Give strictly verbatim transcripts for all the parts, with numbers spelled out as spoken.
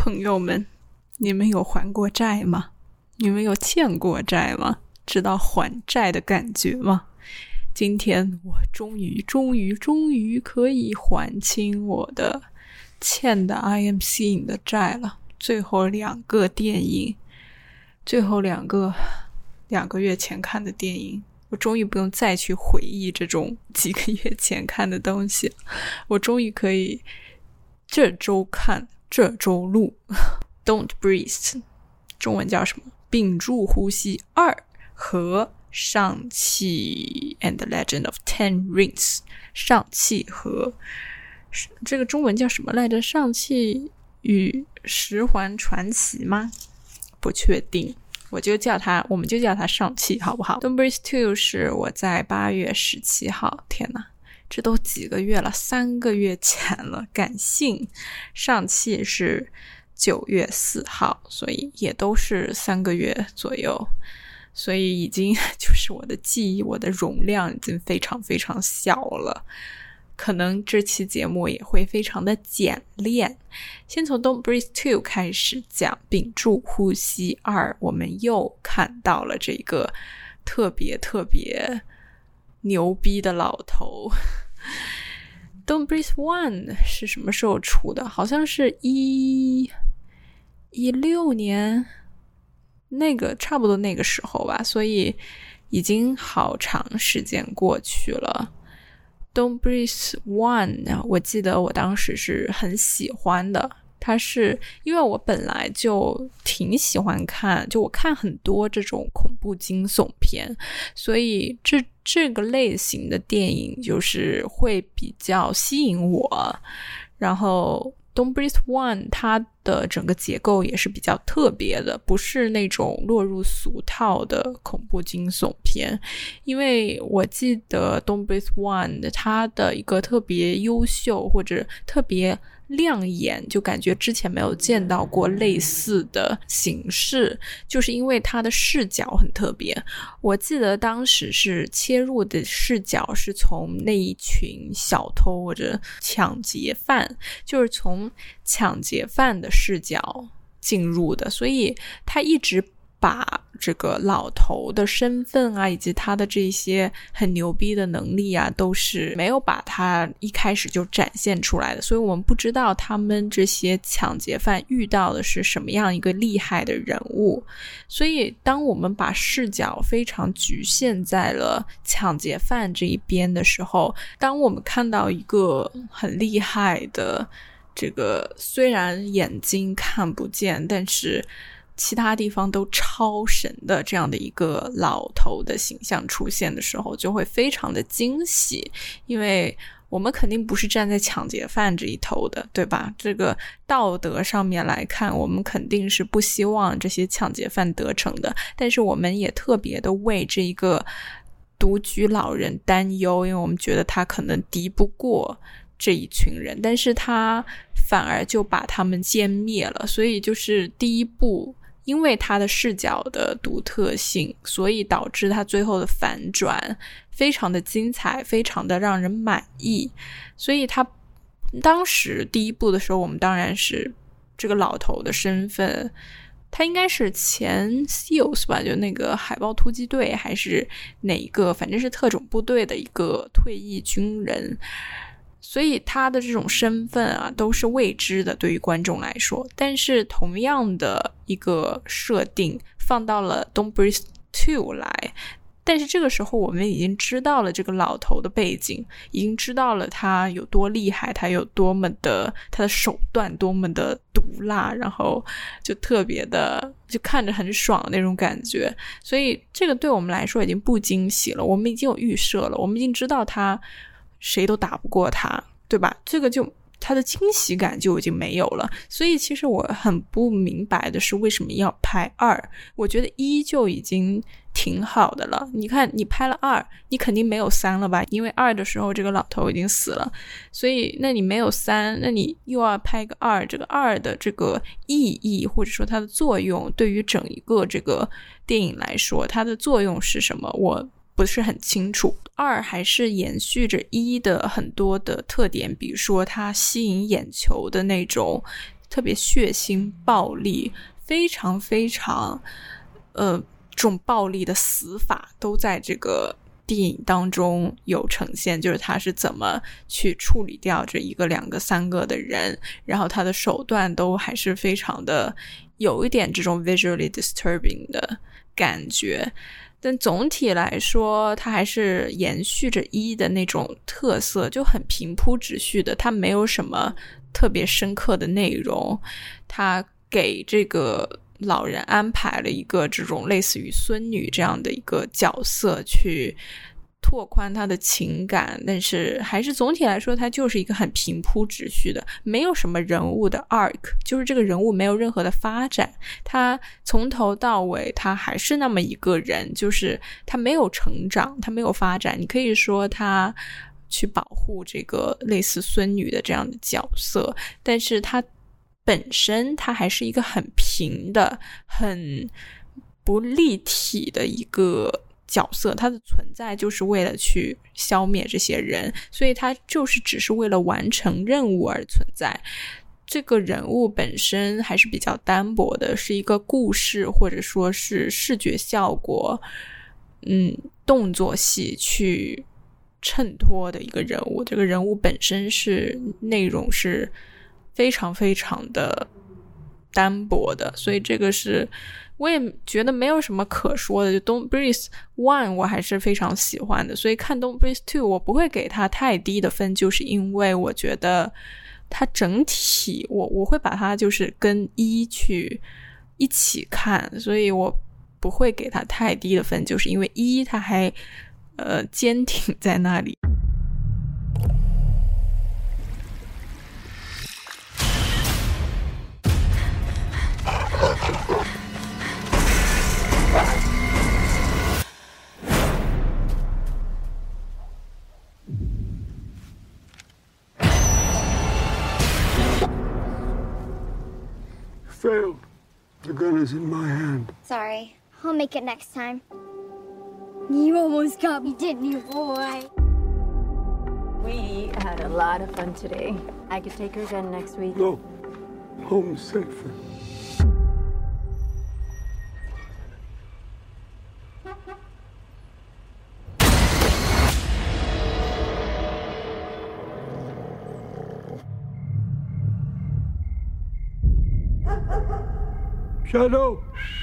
朋友们，你们有还过债吗？你们有欠过债吗？知道还债的感觉吗？今天我终于终于终于可以还清我的欠的 I am seeing 的债了。最后两个电影，最后两个两个月前看的电影，我终于不用再去回忆这种几个月前看的东西，我终于可以这周看这周录。Don't Breathe 中文叫什么？屏住呼吸二和上汽 and the Legend of Ten Rings。 上汽和这个中文叫什么来着？上汽与十环传奇吗？不确定，我就叫它我们就叫它上汽好不好？ Don't Breathe two 是我在八月十七号，天哪，这都几个月了，三个月前了，感性。上汽是九月四号，所以也都是三个月左右，所以已经就是我的记忆，我的容量已经非常非常小了，可能这期节目也会非常的简练。先从 Don't Breathe two 开始讲，屏住呼吸二，我们又看到了这个特别特别牛逼的老头。Don't Breathe one 是什么时候出的？好像是一一六年，那个差不多那个时候吧，所以已经好长时间过去了。Don't Breathe one 我记得我当时是很喜欢的，它是因为我本来就挺喜欢看，就我看很多这种恐怖惊悚片，所以这这个类型的电影就是会比较吸引我。然后 Don't Breathe one 它的整个结构也是比较特别的，不是那种落入俗套的恐怖惊悚片。因为我记得 Don't Breathe one 它的一个特别优秀或者特别亮眼，就感觉之前没有见到过类似的形式，就是因为它的视角很特别。我记得当时是切入的视角是从那一群小偷或者抢劫犯，就是从抢劫犯的视角进入的，所以他一直把这个老头的身份啊，以及他的这些很牛逼的能力啊，都是没有把他一开始就展现出来的，所以我们不知道他们这些抢劫犯遇到的是什么样一个厉害的人物。所以当我们把视角非常局限在了抢劫犯这一边的时候，当我们看到一个很厉害的这个虽然眼睛看不见，但是其他地方都超神的这样的一个老头的形象出现的时候，就会非常的惊喜。因为我们肯定不是站在抢劫犯这一头的，对吧？这个道德上面来看，我们肯定是不希望这些抢劫犯得逞的，但是我们也特别的为这一个独居老人担忧，因为我们觉得他可能敌不过这一群人，但是他反而就把他们歼灭了。所以就是第一步，因为他的视角的独特性，所以导致他最后的反转非常的精彩，非常的让人满意。所以他当时第一部的时候，我们当然是这个老头的身份，他应该是前 S E A L S 吧，就那个海豹突击队还是哪一个，反正是特种部队的一个退役军人，所以他的这种身份啊都是未知的，对于观众来说。但是同样的一个设定放到了 Don't Breathe two 来，但是这个时候我们已经知道了这个老头的背景，已经知道了他有多厉害，他有多么的他的手段多么的毒辣，然后就特别的就看着很爽的那种感觉。所以这个对我们来说已经不惊喜了，我们已经有预设了，我们已经知道他谁都打不过他，对吧？这个就他的惊喜感就已经没有了。所以其实我很不明白的是为什么要拍二，我觉得一就已经挺好的了。你看你拍了二，你肯定没有三了吧，因为二的时候这个老头已经死了，所以那你没有三，那你又要拍个二，这个二的这个意义或者说它的作用，对于整一个这个电影来说它的作用是什么，我不是很清楚。二还是延续着一的很多的特点，比如说它吸引眼球的那种特别血腥暴力，非常非常呃这种暴力的死法都在这个电影当中有呈现，就是他是怎么去处理掉这一个两个三个的人，然后他的手段都还是非常的有一点这种 visually disturbing 的感觉，但总体来说它还是延续着一的那种特色，就很平铺直叙的，它没有什么特别深刻的内容，它给这个老人安排了一个这种类似于孙女这样的一个角色去拓宽他的情感，但是还是总体来说它就是一个很平铺直叙的，没有什么人物的 arc， 就是这个人物没有任何的发展，他从头到尾他还是那么一个人，就是他没有成长，他没有发展，你可以说他去保护这个类似孙女的这样的角色，但是他本身他还是一个很平的很不立体的一个角色，他的存在就是为了去消灭这些人，所以他就是只是为了完成任务而存在。这个人物本身还是比较单薄的，是一个故事或者说是视觉效果嗯，动作戏去衬托的一个人物，这个人物本身是内容是非常非常的单薄的，所以这个是我也觉得没有什么可说的。就 Don't Breathe one 我还是非常喜欢的，所以看 Don't Breathe two 我不会给它太低的分，就是因为我觉得它整体我我会把它就是跟一去一起看，所以我不会给它太低的分，就是因为一它还呃坚挺在那里。 Failed. The gun is in my hand. Sorry. I'll make it next time. You almost got me, didn't you, boy? We had a lot of fun today. I could take her again next week. No. Home safer. Shadow!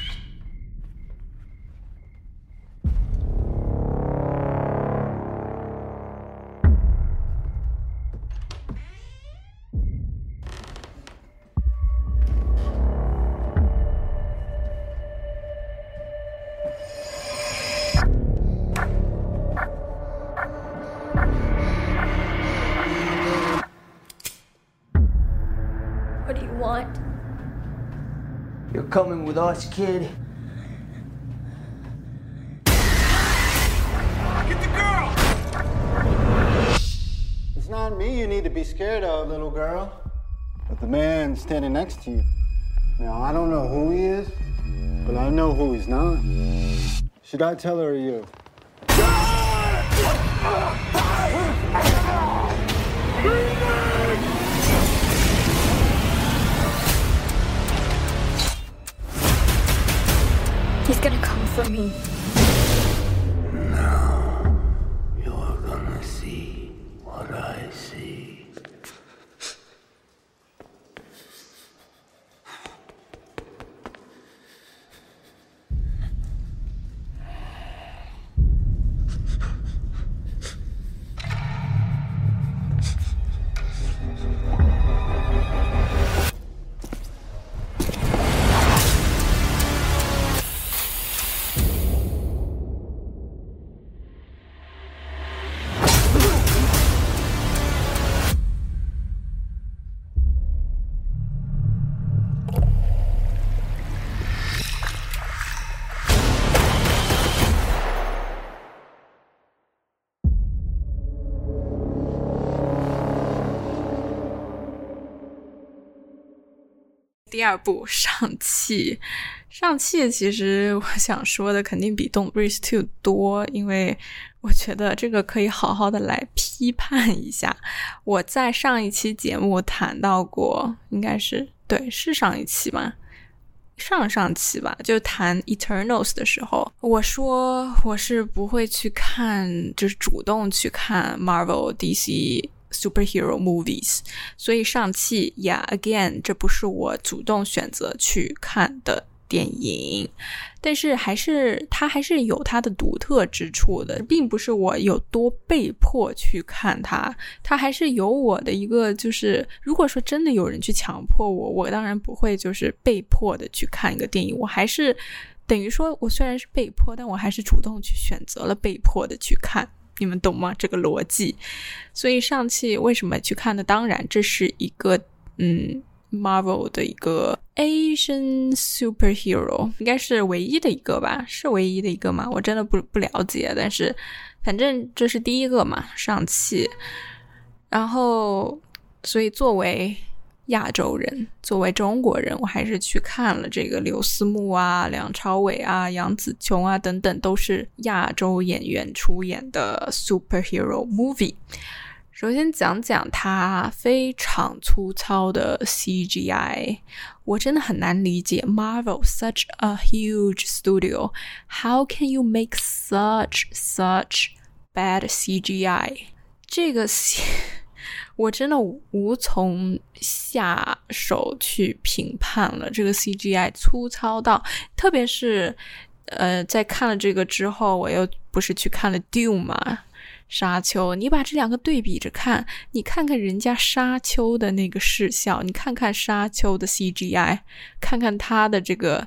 What do you want? You're coming with us, kid. Get the girl! It's not me you need to be scared of, little girl, but the man standing next to you. Now, I don't know who he is, but I know who he's not. Should I tell her or you? He's gonna come for me. Now, you're gonna see what I see. 第二部上汽，上汽其实我想说的肯定比 Don't Breathe two 多，因为我觉得这个可以好好的来批判一下。我在上一期节目谈到过，应该是对，是上一期吗？上上期吧，就谈 Eternals 的时候，我说我是不会去看，就是主动去看 Marvel D C superhero movies， 所以上期 yeah again 这不是我主动选择去看的电影，但是还是它还是有它的独特之处的，并不是我有多被迫去看它，它还是有我的一个，就是如果说真的有人去强迫我，我当然不会就是被迫的去看一个电影，我还是等于说我虽然是被迫，但我还是主动去选择了被迫的去看，你们懂吗？这个逻辑。所以上期为什么去看呢？当然这是一个嗯 Marvel 的一个 Asian superhero， 应该是唯一的一个吧？是唯一的一个吗？我真的不不了解，但是反正这是第一个嘛，上期。然后所以作为亚洲人，作为中国人，我还是去看了这个刘思慕啊、梁朝伟啊、杨紫琼啊等等，都是亚洲演员出演的 superhero movie。首先讲讲它非常粗糙的 C G I， 我真的很难理解 Marvel such a huge studio, how can you make such such bad C G I？ 这个我真的无从下手去评判了，这个 C G I 粗糙到，特别是呃，在看了这个之后，我又不是去看了 Dune 嘛，沙丘，你把这两个对比着看，你看看人家沙丘的那个视效，你看看沙丘的 C G I， 看看它的这个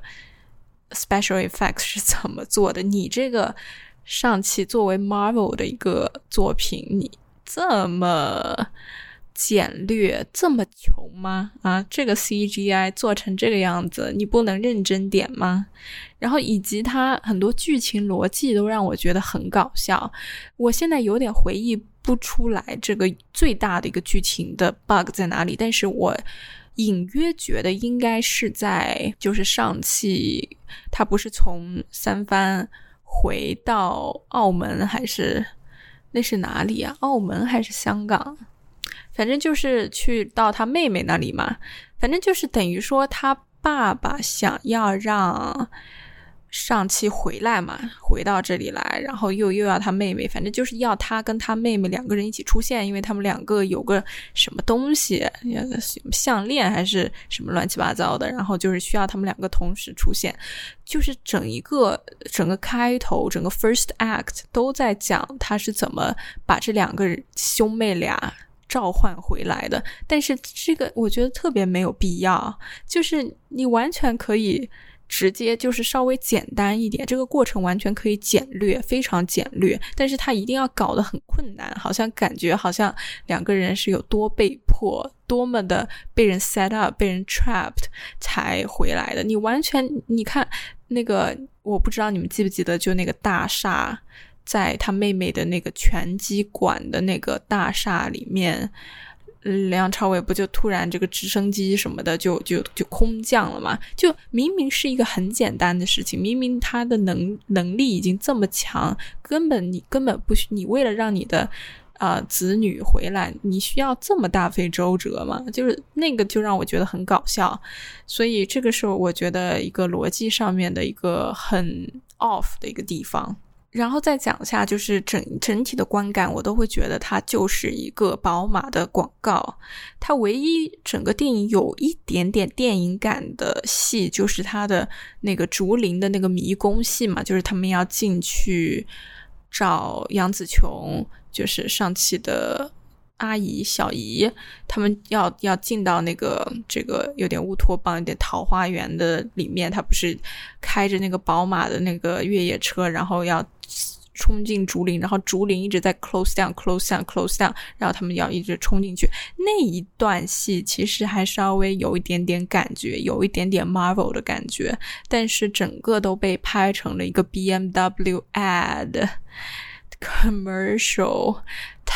special effects 是怎么做的，你这个上期作为 Marvel 的一个作品，你这么简略，这么穷吗？啊，这个 C G I 做成这个样子，你不能认真点吗？然后以及它很多剧情逻辑都让我觉得很搞笑，我现在有点回忆不出来这个最大的一个剧情的 bug 在哪里，但是我隐约觉得应该是在就是上期他不是从三藩回到澳门，还是那是哪里啊？澳门还是香港？反正就是去到他妹妹那里嘛，反正就是等于说他爸爸想要让上期回来嘛，回到这里来，然后又又要他妹妹，反正就是要他跟他妹妹两个人一起出现，因为他们两个有个什么东西，项链还是什么乱七八糟的，然后就是需要他们两个同时出现，就是整一个整个开头，整个 first act 都在讲他是怎么把这两个兄妹俩召唤回来的，但是这个我觉得特别没有必要，就是你完全可以直接就是稍微简单一点，这个过程完全可以简略，非常简略，但是他一定要搞得很困难，好像感觉好像两个人是有多被迫，多么的被人 set up 被人 trapped 才回来的。你完全你看那个，我不知道你们记不记得，就那个大厦，在他妹妹的那个拳击馆的那个大厦里面，梁朝伟不就突然这个直升机什么的就就就空降了嘛？就明明是一个很简单的事情，明明他的能能力已经这么强，根本你根本不需你为了让你的呃子女回来，你需要这么大费周折吗？就是那个就让我觉得很搞笑，所以这个是我觉得一个逻辑上面的一个很 off 的一个地方。然后再讲一下，就是整整体的观感，我都会觉得它就是一个宝马的广告。它唯一整个电影有一点点电影感的戏，就是它的那个竹林的那个迷宫戏嘛，就是他们要进去找杨紫琼，就是上期的阿姨小姨，他们要要进到那个这个有点乌托邦有点桃花源的里面，他不是开着那个宝马的那个越野车，然后要冲进竹林，然后竹林一直在 close down close down close down， 然后他们要一直冲进去，那一段戏其实还稍微有一点点感觉，有一点点 Marvel 的感觉，但是整个都被拍成了一个 B M W ad commercial， 它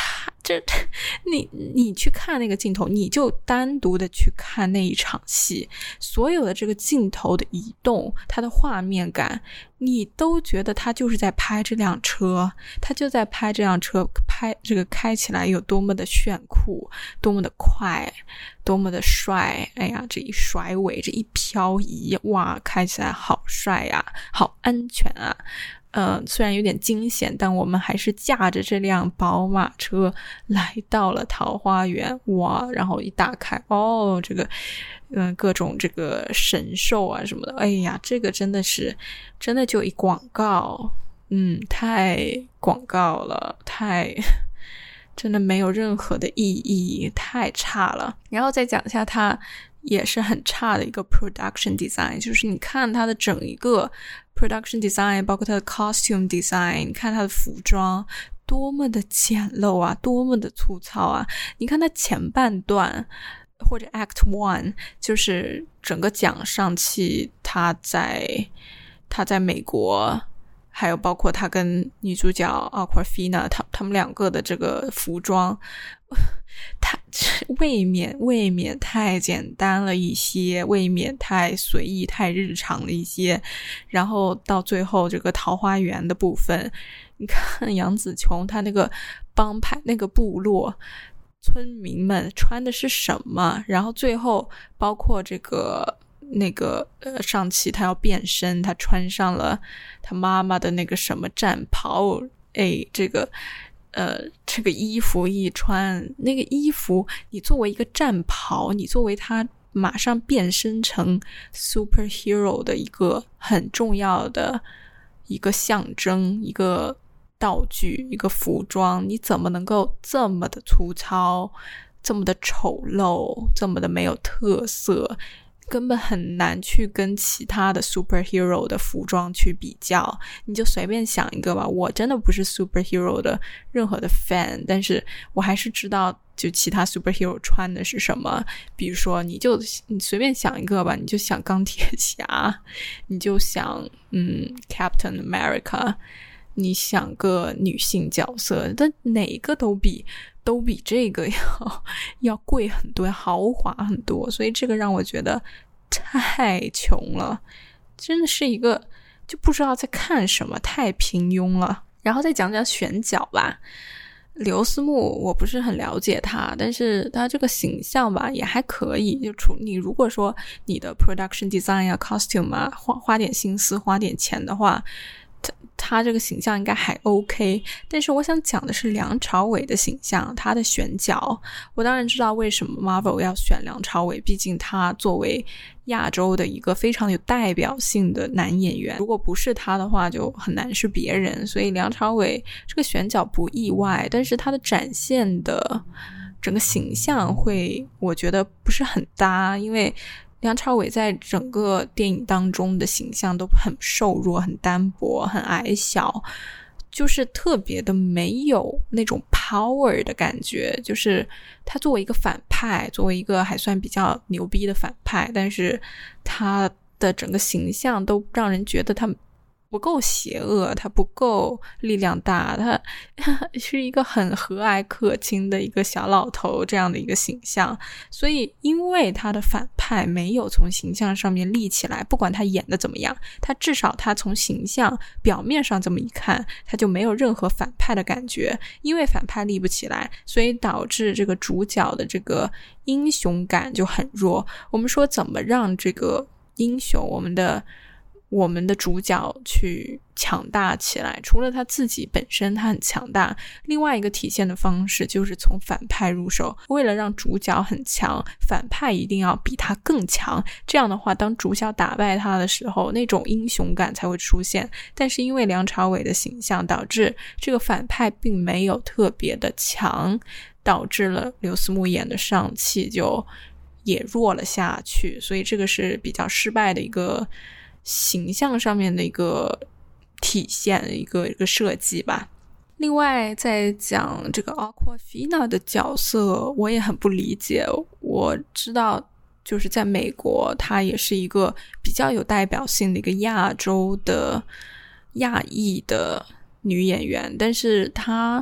这你你去看那个镜头，你就单独的去看那一场戏，所有的这个镜头的移动，它的画面感，你都觉得他就是在拍这辆车，他就在拍这辆车，拍这个开起来有多么的炫酷，多么的快，多么的帅。哎呀，这一甩尾，这一漂移，哇，开起来好帅呀，好安全啊。呃，虽然有点惊险，但我们还是驾着这辆宝马车来到了桃花源。哇，然后一打开，哦，这个嗯、呃，各种这个神兽啊什么的，哎呀，这个真的是真的就一广告，嗯，太广告了，太真的没有任何的意义，太差了。然后再讲一下它也是很差的一个 production design， 就是你看它的整一个 production design， 包括它的 costume design， 你看它的服装多么的简陋啊，多么的粗糙啊。你看它前半段或者 act one， 就是整个讲上汽他在他在美国，还有包括他跟女主角 Awkwafina 他他们两个的这个服装，他未免未免太简单了一些，未免太随意太日常了一些。然后到最后这个桃花源的部分，你看杨紫琼她那个帮派那个部落村民们穿的是什么，然后最后包括这个那个呃上期他要变身，他穿上了他妈妈的那个什么战袍，哎，这个呃这个衣服一穿，那个衣服你作为一个战袍，你作为他马上变身成 superhero 的一个很重要的一个象征，一个道具，一个服装，你怎么能够这么的粗糙，这么的丑陋，这么的没有特色，根本很难去跟其他的 superhero 的服装去比较。你就随便想一个吧，我真的不是 superhero 的任何的 fan， 但是我还是知道就其他 superhero 穿的是什么。比如说你就你随便想一个吧，你就想钢铁侠，你就想嗯 Captain America， 你想个女性角色，但哪个都比都比这个要要贵很多，要豪华很多，所以这个让我觉得太穷了，真的是一个就不知道在看什么，太平庸了。然后再讲讲选角吧，刘思慕我不是很了解他，但是他这个形象吧也还可以，就除你如果说你的 production design 啊 costume 啊花花点心思花点钱的话，他他这个形象应该还 OK。 但是我想讲的是梁朝伟的形象，他的选角。我当然知道为什么 Marvel 要选梁朝伟，毕竟他作为亚洲的一个非常有代表性的男演员，如果不是他的话就很难是别人，所以梁朝伟这个选角不意外，但是他的展现的整个形象会我觉得不是很搭，因为梁朝伟在整个电影当中的形象都很瘦弱，很单薄，很矮小，就是特别的没有那种 power 的感觉。就是他作为一个反派，作为一个还算比较牛逼的反派，但是他的整个形象都让人觉得他不够邪恶，他不够力量大，他是一个很和蔼可亲的一个小老头这样的一个形象。所以因为他的反派没有从形象上面立起来，不管他演的怎么样，他至少他从形象表面上这么一看，他就没有任何反派的感觉。因为反派立不起来，所以导致这个主角的这个英雄感就很弱。我们说怎么让这个英雄，我们的我们的主角去强大起来，除了他自己本身他很强大，另外一个体现的方式就是从反派入手。为了让主角很强，反派一定要比他更强，这样的话当主角打败他的时候，那种英雄感才会出现。但是因为梁朝伟的形象，导致这个反派并没有特别的强，导致了刘思慕演的上汽就也弱了下去，所以这个是比较失败的一个形象上面的一个体现，一个一个设计吧。另外在讲这个 Awkwafina 的角色，我也很不理解。我知道就是在美国她也是一个比较有代表性的一个亚洲的亚裔的女演员，但是她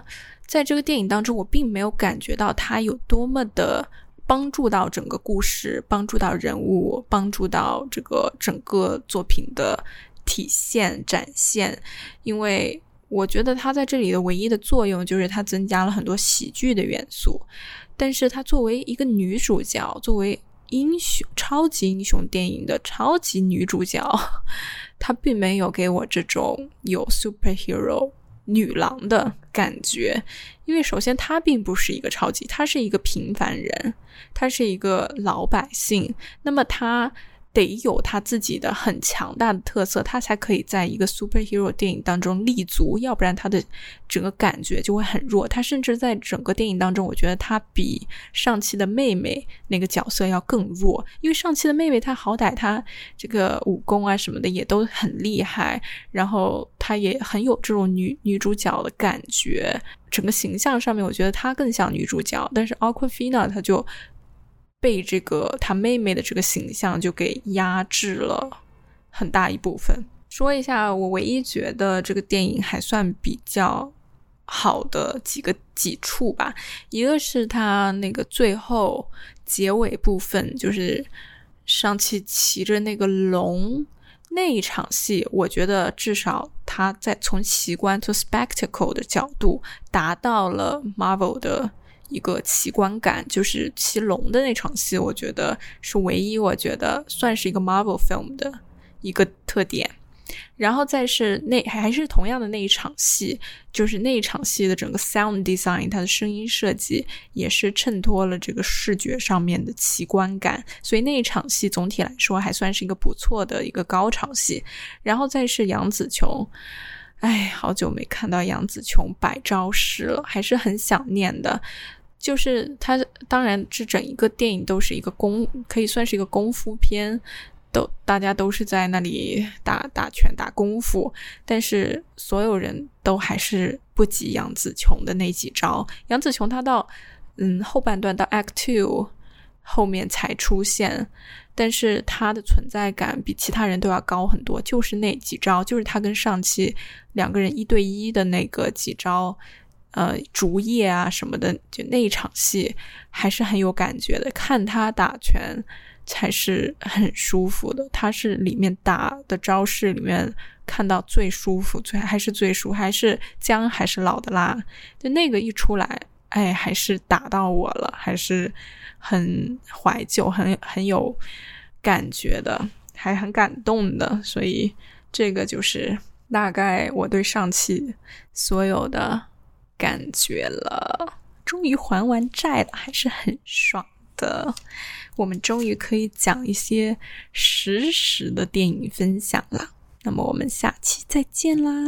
在这个电影当中我并没有感觉到它有多么的帮助到整个故事，帮助到人物，帮助到这个整个作品的体现展现，因为我觉得它在这里的唯一的作用就是它增加了很多喜剧的元素，但是它作为一个女主角，作为英雄超级英雄电影的超级女主角，她并没有给我这种有 superhero 女郎的感觉，因为首先她并不是一个超级，她是一个平凡人，她是一个老百姓，那么她得有他自己的很强大的特色，他才可以在一个 superhero 电影当中立足，要不然他的整个感觉就会很弱。他甚至在整个电影当中，我觉得他比上期的妹妹那个角色要更弱，因为上期的妹妹她好歹她这个武功啊什么的也都很厉害，然后她也很有这种女女主角的感觉，整个形象上面我觉得她更像女主角，但是 Awkwafina 她就被这个他妹妹的这个形象就给压制了很大一部分。说一下我唯一觉得这个电影还算比较好的几个几处吧，一个是他那个最后结尾部分，就是上期骑着那个龙那一场戏，我觉得至少他在从奇观 to spectacle 的角度达到了 Marvel 的一个奇观感，就是骑龙的那场戏，我觉得是唯一我觉得算是一个 Marvel film 的一个特点。然后再是那还是同样的那一场戏，就是那一场戏的整个 sound design， 它的声音设计也是衬托了这个视觉上面的奇观感，所以那一场戏总体来说还算是一个不错的一个高潮戏。然后再是杨紫琼，哎，好久没看到杨紫琼摆招式了，还是很想念的。就是它当然这整一个电影都是一个功，可以算是一个功夫片，都大家都是在那里打打拳打功夫，但是所有人都还是不及杨紫琼的那几招。杨紫琼她到嗯后半段到 Act two 后面才出现，但是她的存在感比其他人都要高很多，就是那几招，就是她跟上期两个人一对一的那个几招呃，竹叶啊什么的，就那一场戏还是很有感觉的，看他打拳才是很舒服的，他是里面打的招式里面看到最舒服，最还是最舒服，还是姜还是老的辣，就那个一出来，哎，还是打到我了，还是很怀旧，很很有感觉的，还很感动的，所以这个就是大概我对上期所有的感觉了。终于还完债了，还是很爽的。我们终于可以讲一些实时的电影分享了。那么我们下期再见啦。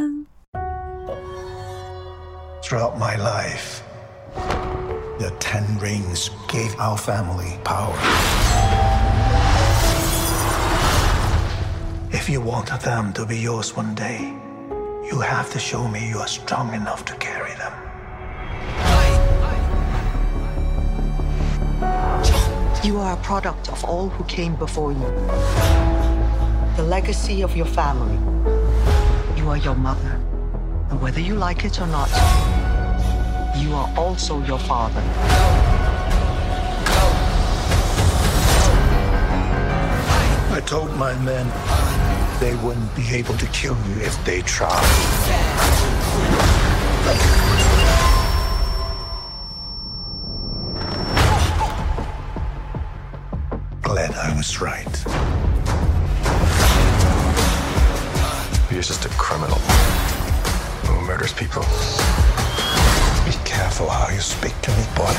Throughout my life, the Ten Rings gave our family power. If you want them to be yours one day, you have to show me you are strong enough to carry them. You are a product of all who came before you. The legacy of your family. You are your mother. And whether you like it or not, you are also your father. I told my men they wouldn't be able to kill you if they tried. Glad I was right. You're just a criminal who murders people. Be careful how you speak to me, boy.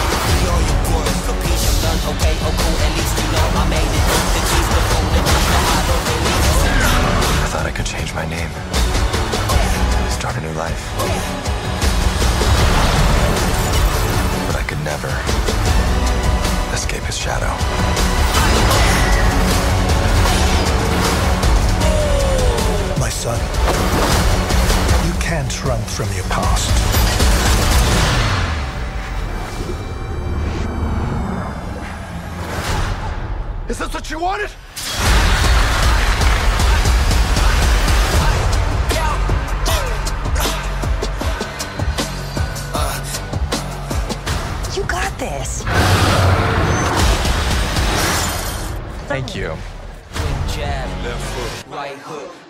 I thought I could change my name, start a new life. But I could never escape his shadow. My son, you can't run from your past. Is this what you wanted? Uh. this. Thank you. Jab, left foot, right hook.